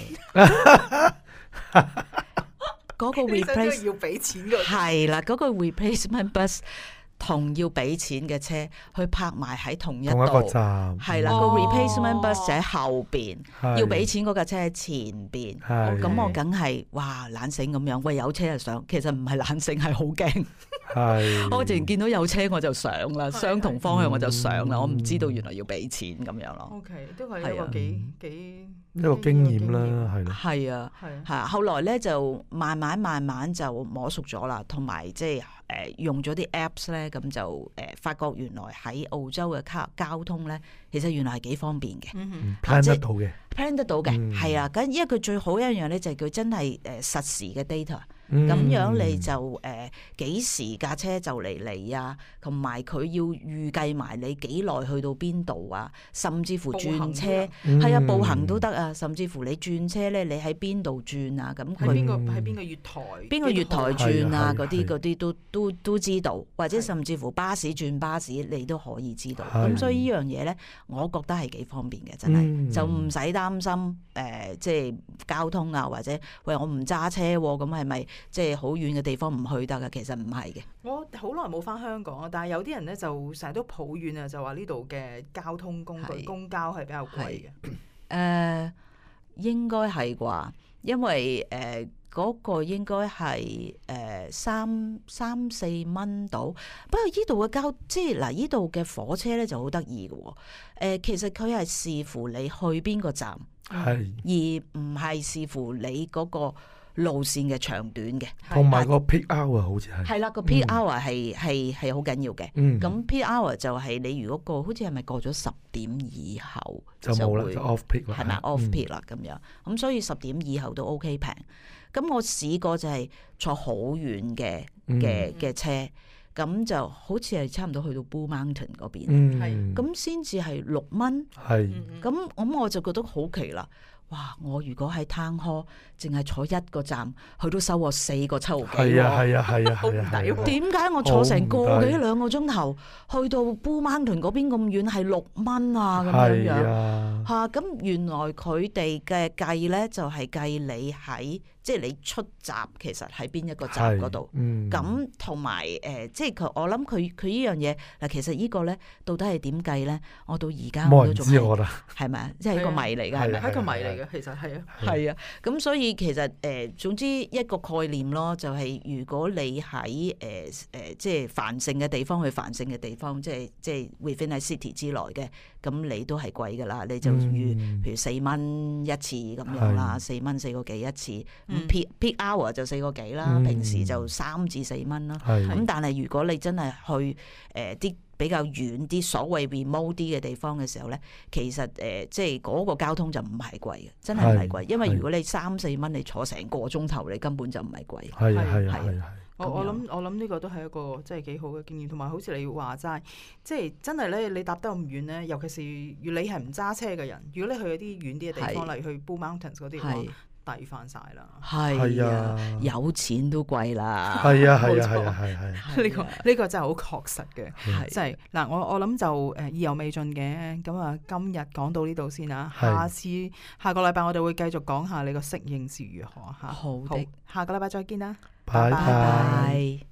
嗰個 replace 要俾錢嘅係啦，嗰個 replacement bus 同要俾錢嘅車去泊埋喺同一個站， 係啦，個 replacement bus 就喺後邊，要俾錢嗰架車喺前邊。咁我梗係哇懶醒咁樣，喂有車就上，其實唔係懶醒，係好驚。我突然見到有車我就上啦，相同方向我就上啦，我唔知道原來要俾錢咁樣咯。 OK， 都係一個幾一個經驗啦，係咯。 係啊，係啊。後來咧就慢慢就摸熟咗啦，同埋即係用咗啲 apps 咧，咁就發覺原來喺澳洲嘅交通咧，其實原來係幾方便嘅 ，plan 得到嘅 ，plan 得到嘅，係啊。咁因為佢最好一樣咧，就係佢真係實時嘅 data。咁樣你就幾時架車就嚟啊，同埋佢要預計埋你幾耐去到邊度啊，甚至乎轉車係啊，步行都得啊，甚至乎你轉車咧，你喺邊度轉啊？咁佢喺邊個月台？邊個月台轉啊？嗰啲都知道，或者甚至乎巴士轉巴士，你都可以知道。咁所以呢樣嘢咧，我覺得係幾方便嘅，真係就唔使擔心即係交通啊，或者喂我唔揸車咁係咪？即係好遠嘅地方唔去得㗎，其實唔係嘅。 我好耐冇返香港啊，但係有啲人咧就成日都抱怨啊，就話呢度嘅交通工具公交係比較貴嘅。 應該係啩，因為嗰個應該係三四蚊到。不過依度嘅即係嗱，依度嘅火車咧就好得意嘅喎。其實佢係視乎你去邊個站，而唔係視乎你嗰個路線嘅長短嘅， 同埋個 peak hour 好似係啦，個 peak hour 係好緊要嘅。咁 peak hour 就係你如果好似係咪過咗10點以後就冇啦，就 off peak 啦， 係咪 off peak 啦咁樣？咁所以10點以後都 OK 平。咁我試過就係坐好遠嘅車，咁就好似係差唔多去到 Blue Mountain 嗰邊，咁先至係6蚊。咁我就覺得好奇啦。哇！我如果喺Town Hall淨係坐一個站，佢都收我4個7毫幾喎。係啊，好唔抵喎！點解我坐成個幾2個鐘頭去到 Blue Mountain嗰邊咁遠係6蚊啊？咁樣嚇，咁原來佢哋嘅計咧就係計你喺即係你出閘其實喺邊一個站嗰度。咁同埋即係我諗佢呢樣嘢嗱，其實呢個咧到底係點計咧？我到而家我都仲係咪啊？即係一個謎嚟㗎，係咪？ 係一個謎嚟㗎。 嘅，其實係啊， 係啊，咁所以其實總之一個概念咯，就係如果你喺即係繁盛嘅地方去繁盛嘅地方，即係 within a city 之內嘅，咁你都係貴㗎啦，你就譬如4蚊一次咁樣啦，4蚊4個幾一次，咁 peak hour 就4個幾啦，平時就3至4蚊啦，咁但係如果你真係去啲比較遠啲所謂 remote 啲嘅地方嘅時候咧，其實即係嗰個交通就唔係貴嘅，真係唔係貴，因為如果你3、4蚊你坐成個鐘頭，你根本就唔係貴。係。 我諗呢個都係一個即係幾好嘅經驗，同埋好似你話齋，即係真係咧，你搭得咁遠咧，尤其是如果你係唔揸車嘅人，如果你去一啲遠啲嘅地方，例如去 Blue Mountains 嗰啲，抵翻晒啦。 係啊，有錢都貴啦。 係啊。 呢個真係好確實嘅，即係嗱，我諗就意猶未盡嘅，咁啊今日講到呢度先啦，下個禮拜我哋會繼續講下你個適應是如何嚇。 好的， 下個禮拜再見啦， 拜拜。